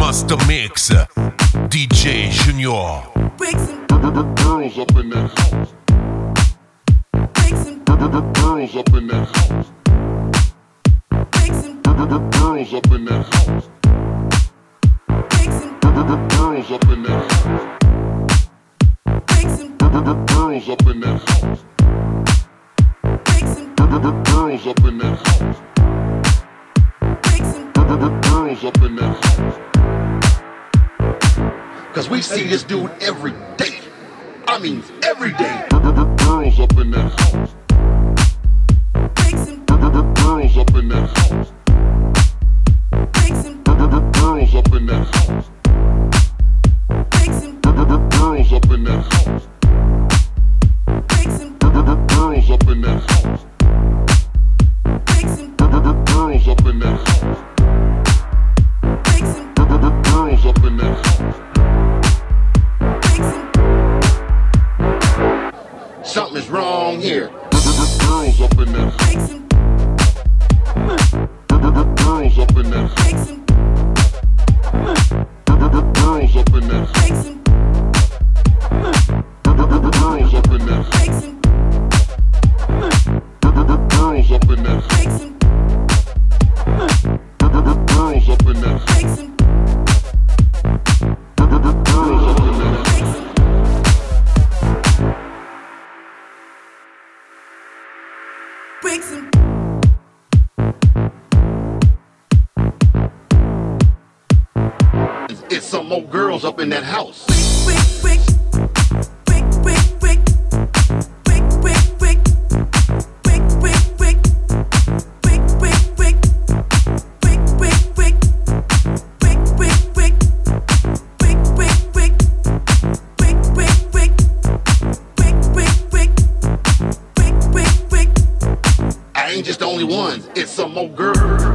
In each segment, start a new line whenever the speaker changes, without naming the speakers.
Master Mix, DJ Junior.
Girls up in that house. Girls up in that house. Girls up in that house. Girls up in that house. Girls up in that house. Girls up in that house. Girls up in that house. Cause we see this dude every day. I mean every day. Girls up in that house. Girls up in that house. Girls up in that house. Girls up in that house. Girls up in that house. Girls up in that house. Girls up in that house. Something's wrong here. Girls up in that house. Girls up in that house. Girls up in that house. Girls up in that house. Girls up in that house. Girls up in that house. Girls up in that house. It's some more girls up in that house. I ain't just the only one, it's some more girls.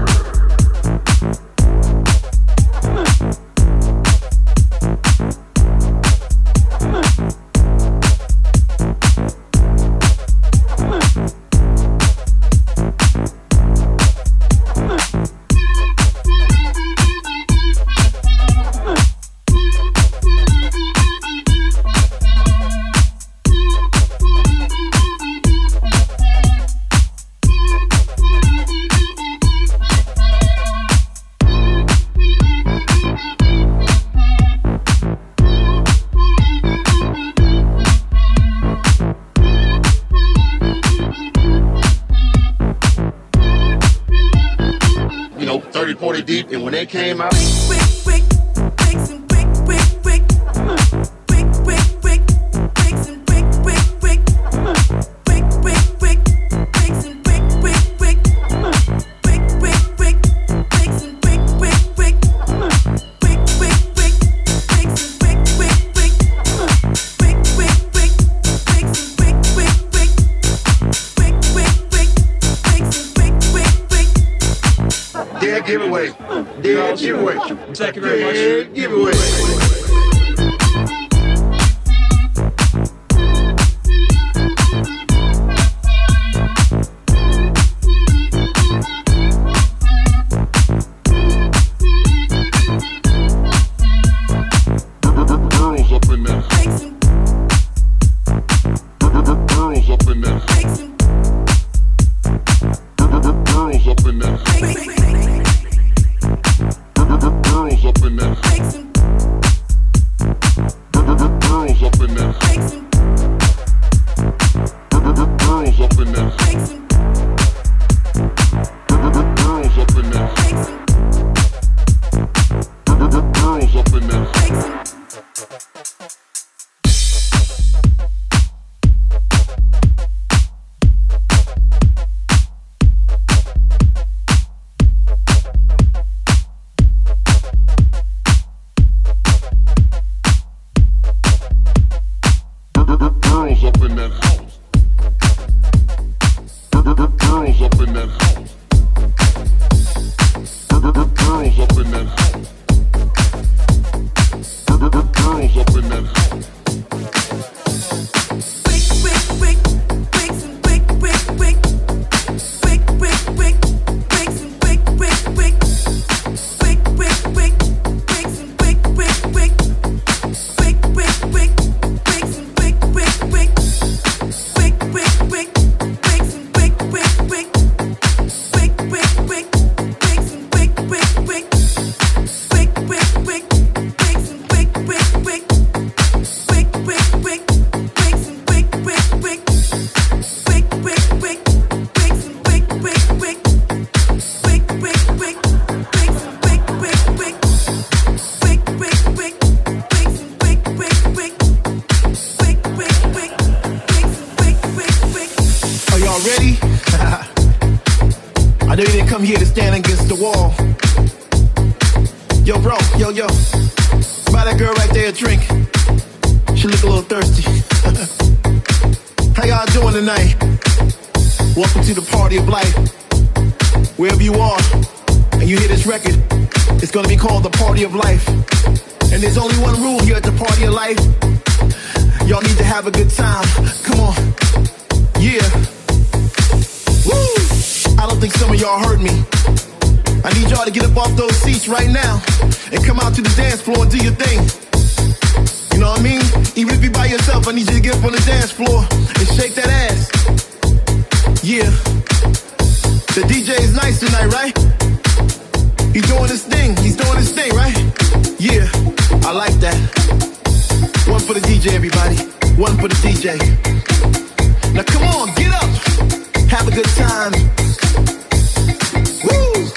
You know, 30, 40 deep, and when they came out, dead giveaway. Dead giveaway.
Thank you very much.
Dead giveaway. Girls up in that house. Girls up in that house. Girls up in that house. Girls up in that house. Girls up in that house. Girls up in that house. Girls up in that house. Girls up in that house. Girls up in that house. Girls up in that house. Girls up in that house. Girls up in that house.
I know you didn't come here to stand against the wall. Yo, bro, yo. Buy that girl right there a drink. She look a little thirsty. How y'all doing tonight? Welcome to the party of life. Wherever you are, and you hear this record, it's gonna be called the party of life. And there's only one rule here at the party of life. Y'all need to have a good time. Come on. Yeah. Woo! I don't think some of y'all heard me. I need y'all to get up off those seats right now and come out to the dance floor and do your thing. You know what I mean? Even if you're by yourself, I need you to get up on the dance floor and shake that ass. Yeah. The DJ is nice tonight, right? He's doing his thing, right? Yeah, I like that. One for the DJ, everybody. One for the DJ. Now come on, get up. Have a good time. Woo!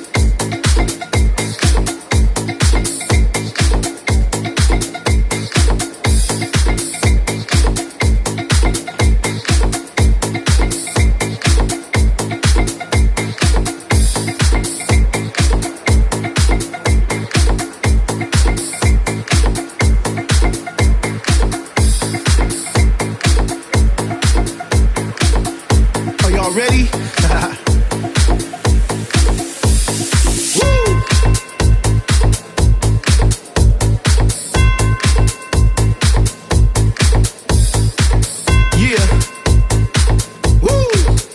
Ready? Woo! Yeah. Woo!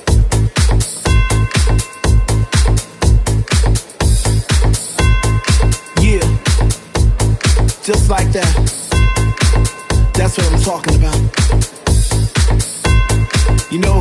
Yeah. Just like that. That's what I'm talking about. You know,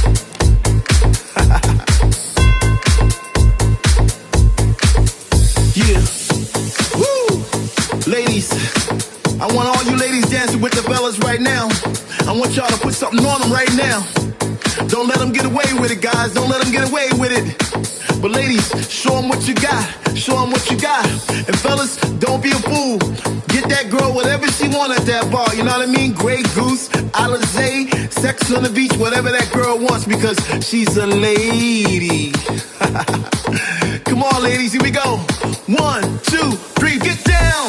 yeah. Woo! Ladies, I want all you ladies dancing with the fellas right now. I want y'all to put something on them right now. Don't let them get away with it, guys. Don't let them get away with it. But ladies, show them what you got. Show them what you got. And fellas, don't be a fool. Get that girl whatever she want at that bar. You know what I mean? Grey Goose, Alizé, Sex on the Beach, whatever that girl wants, because she's a lady. Come on, ladies, here we go. 1, 2, 3, get down.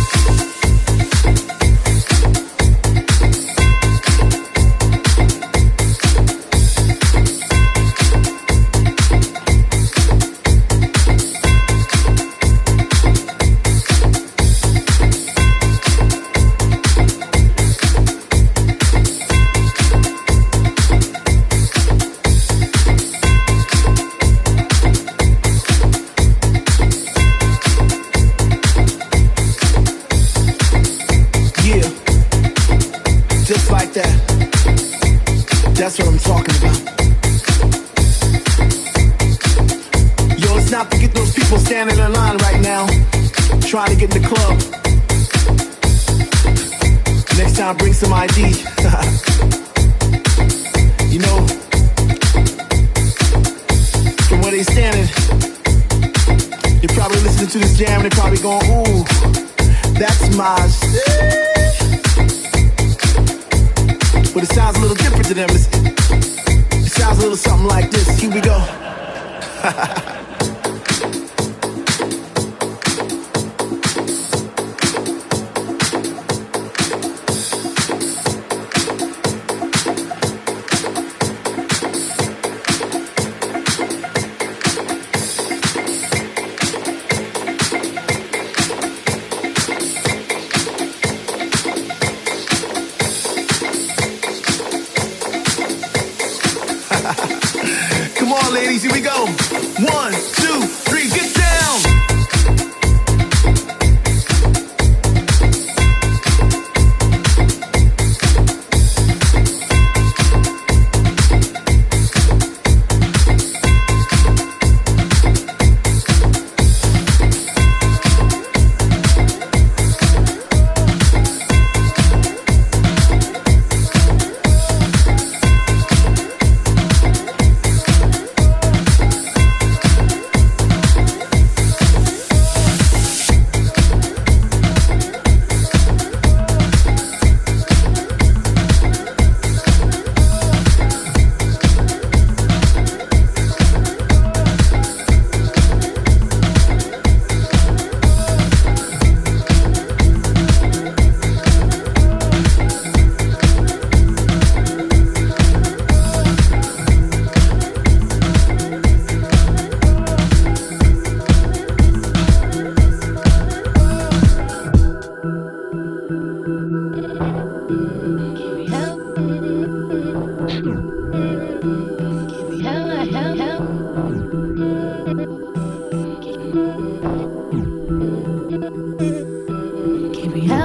Just like that. That's what I'm talking about. Yo, let's not forget those people standing in line right now, trying to get in the club. Next time, bring some ID. You know, from where they standing, you're probably listening to this jam and they're probably going, ooh, that's my shit. But it sounds a little different to them. It sounds a little something like this. Here we go. Come on, ladies, here we go. 1, 2, 3, get down.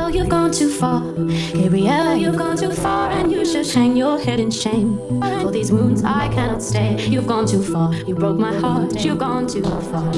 Gabrielle, you've gone too far. Gabrielle, you've gone too far, and you should hang your head in shame. For these moons I cannot stay. You've gone too far. You broke my heart. You've gone too far.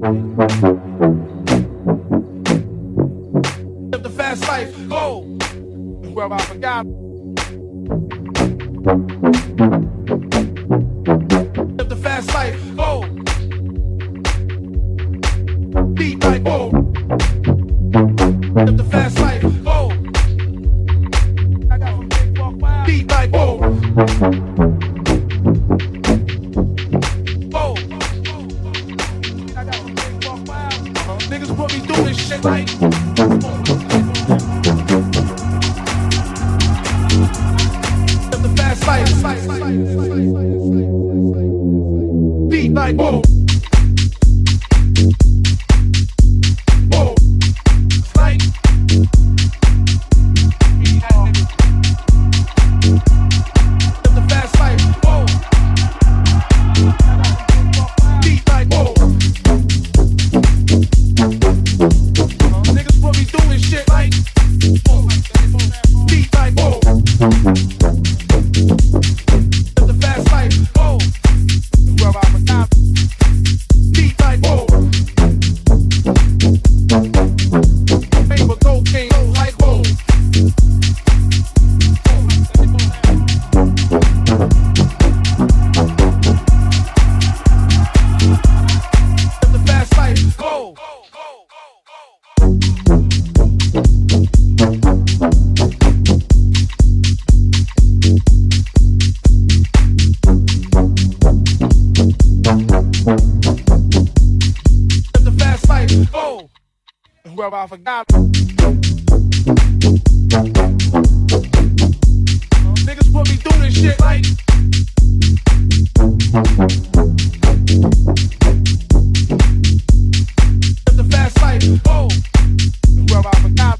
Live the fast life, go. Where I forgot. Live the fast life, go. Beat like go. Live the fast life, go. I got some big walk wild. Beat like go. Go. I got some big walk wild. Niggas put me through this shit like. Live the fast life. Beat like go. I forgot. Niggas put me through this shit like. Live the fast life, oh. Where I forgot.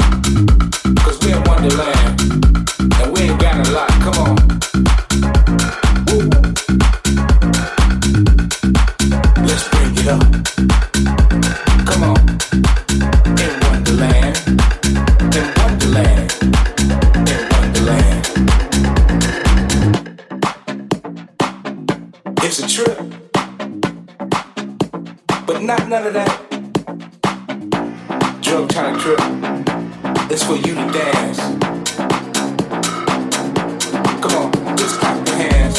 Wonderland, and we ain't got a lot. Come on. but not none of that drug trying to trip. It's for you to dance. Come on, just clap your hands.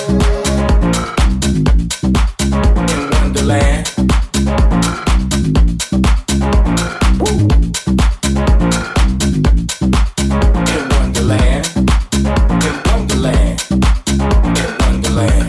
In Wonderland. Woo. In Wonderland. In Wonderland. In Wonderland.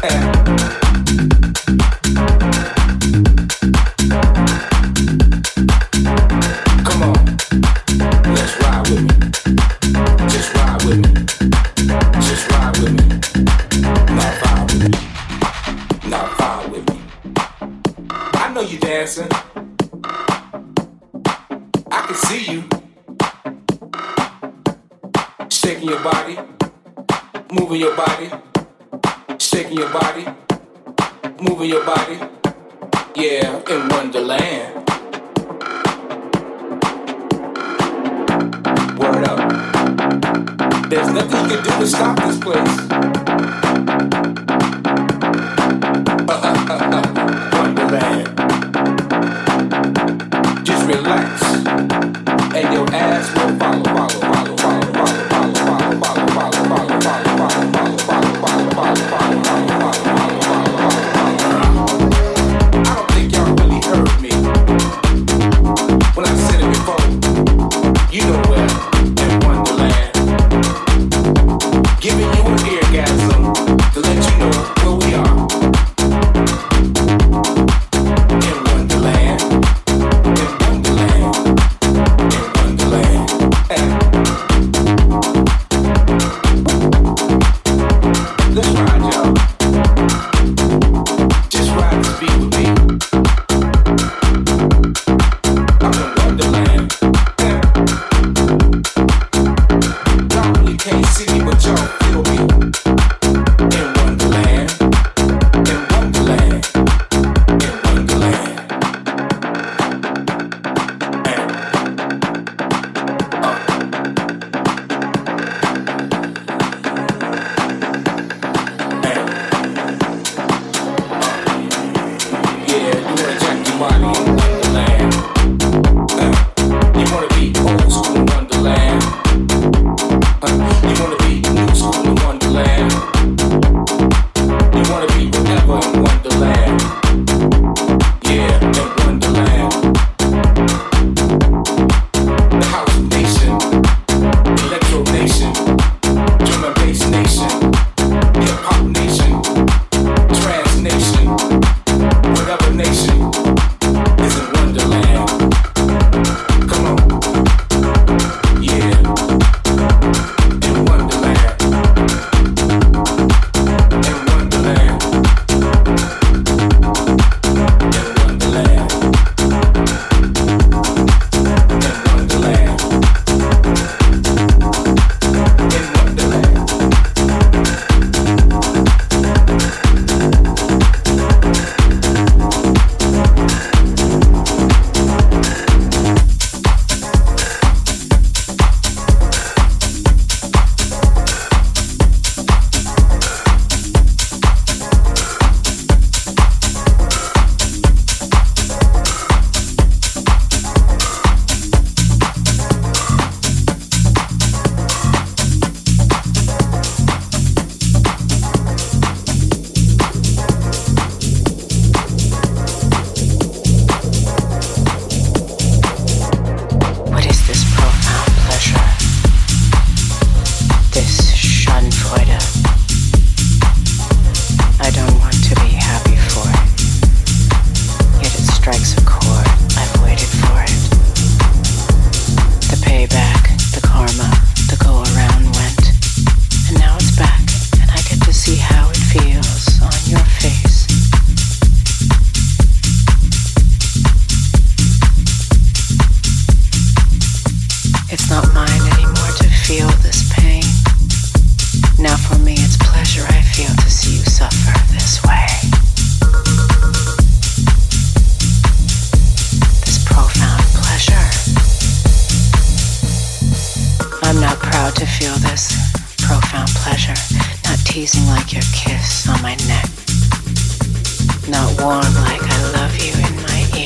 Come on, let's ride with me. Just ride with me. Just ride with me. Now vibe with me. Now vibe with me. I know you dancing. I can see you. Shaking your body. Moving your body. Shaking your body. Moving your body. Yeah, in Wonderland. Word up. There's nothing you can do to stop this place. Wonderland. Just relax, and your ass will follow, follow, follow, follow, follow, follow, follow, follow, follow, follow, follow, follow, follow, follow, follow, follow, follow, I don't think y'all really heard me when I said it before. You know where, in Wonderland. Giving you an eargasm to let you know where we are. In Wonderland. In Wonderland. In Wonderland. Let's ride, y'all. Just ride this beat with me. I'm in Wonderland. Y'all really can't see me, but y'all feel me. In Wonderland. In Wonderland. In Wonderland. Yeah, you wanna jack your body in Wonderland. You wanna be old school in Wonderland. You wanna be new school in Wonderland. You wanna be whatever in Wonderland. Yeah, in Wonderland. The House Nation, Electro Nation, Drum and Bass Nation, Hip Hop Nation, Trance Nation, whatever nation is in Wonderland. Come on. Yeah. In Wonderland. In Wonderland. In Wonderland. In Wonderland. In Wonderland.
What is this profound pleasure? This Schadenfreude? I don't want to be happy for it. Yet it strikes a chord. I've waited for it. The payback, the karma, the go-around went. And now it's back, and I get to see how it feels on your face. It's not mine anymore to feel this pain. Now for me it's pleasure I feel to see you suffer this way. This profound pleasure. I'm not proud to feel this profound pleasure. Not teasing like your kiss on my neck. Not warm like I love you in my ear.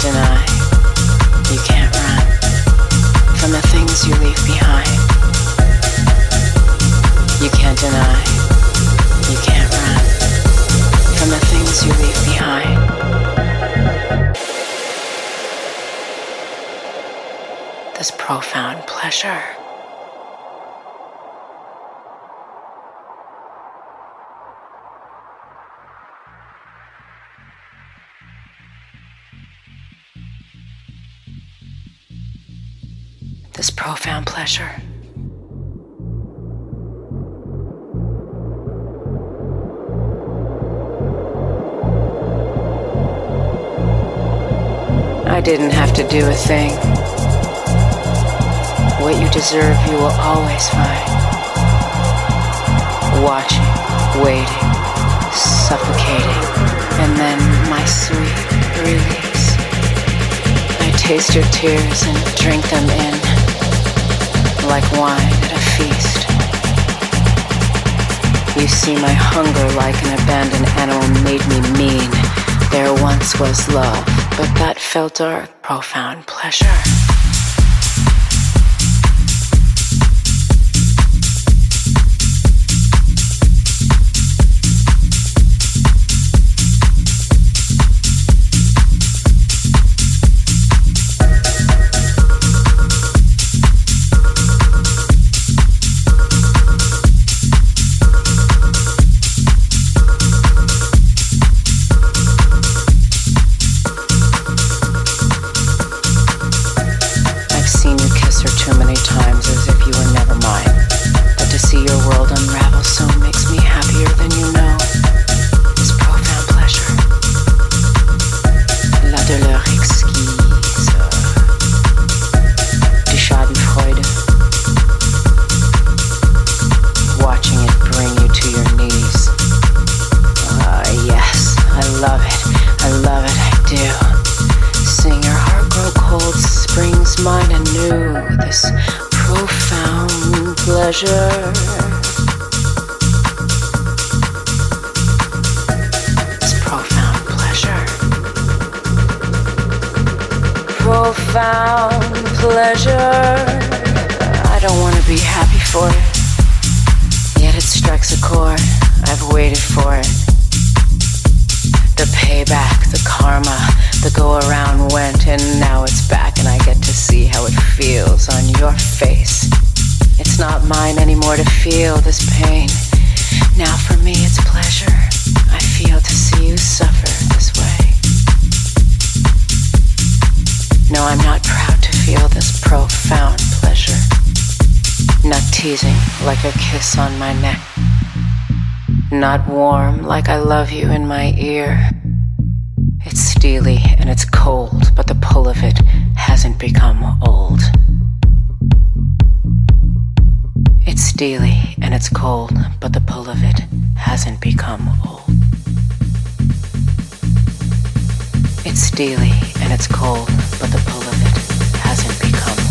deny, you can't run from the things you leave behind. You can't deny, you can't run from the things you leave behind. This profound pleasure. This profound pleasure. I didn't have to do a thing. What you deserve, you will always find. Watching, waiting, suffocating, and then my sweet release. I taste your tears and drink them in, like wine at a feast. You see, my hunger like an abandoned animal made me mean. There once was love, but that felt dark, profound pleasure. Profound pleasure. I don't want to be happy for it, yet it strikes a chord. I've waited for it. The payback, the karma, the go around went, and now it's back, and I get to see how it feels on your face. It's not mine anymore to feel this pain. Now for me it's pleasure. I feel to see you suffer this way. No, I'm not proud to feel this profound pleasure. Not teasing like a kiss on my neck. Not warm like I love you in my ear. It's steely and it's cold, but the pull of it hasn't become old. It's steely and it's cold, but the pull of it hasn't become old. It's steely and it's cold, but the pull of it hasn't become old.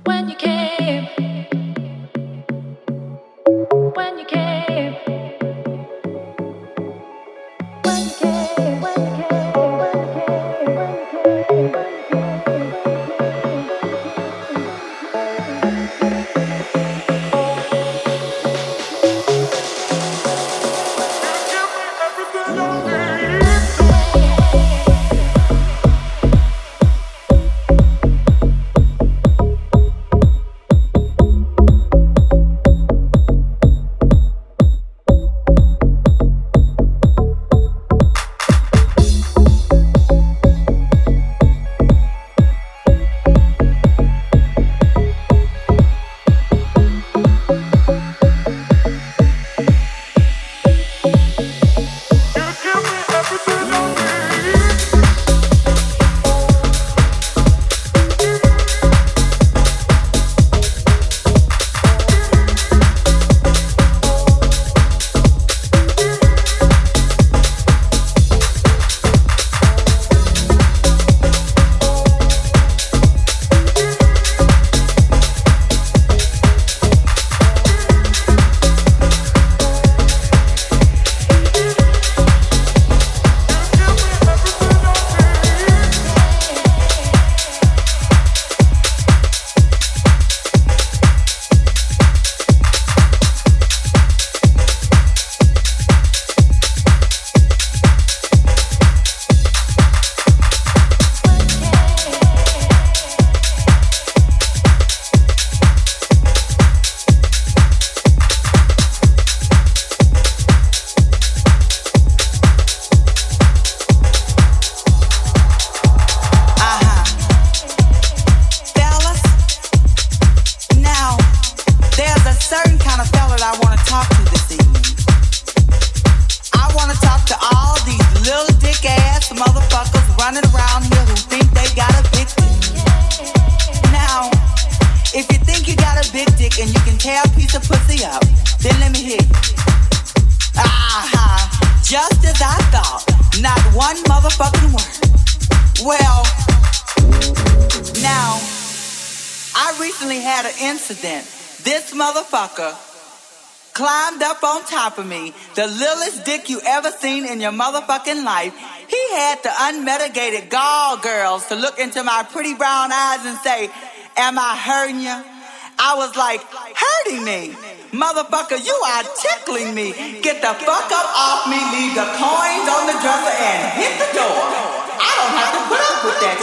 Climbed up on top of me, the littlest dick you ever seen in your motherfucking life. He had the unmitigated gall girls to look into my pretty brown eyes and say, "Am I hurting you?" I was like, "Hurting me? Motherfucker, you are tickling me. Get the fuck up off me, leave the coins on the dresser and hit the door. I don't have to put up with that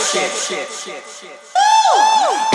shit. Ooh.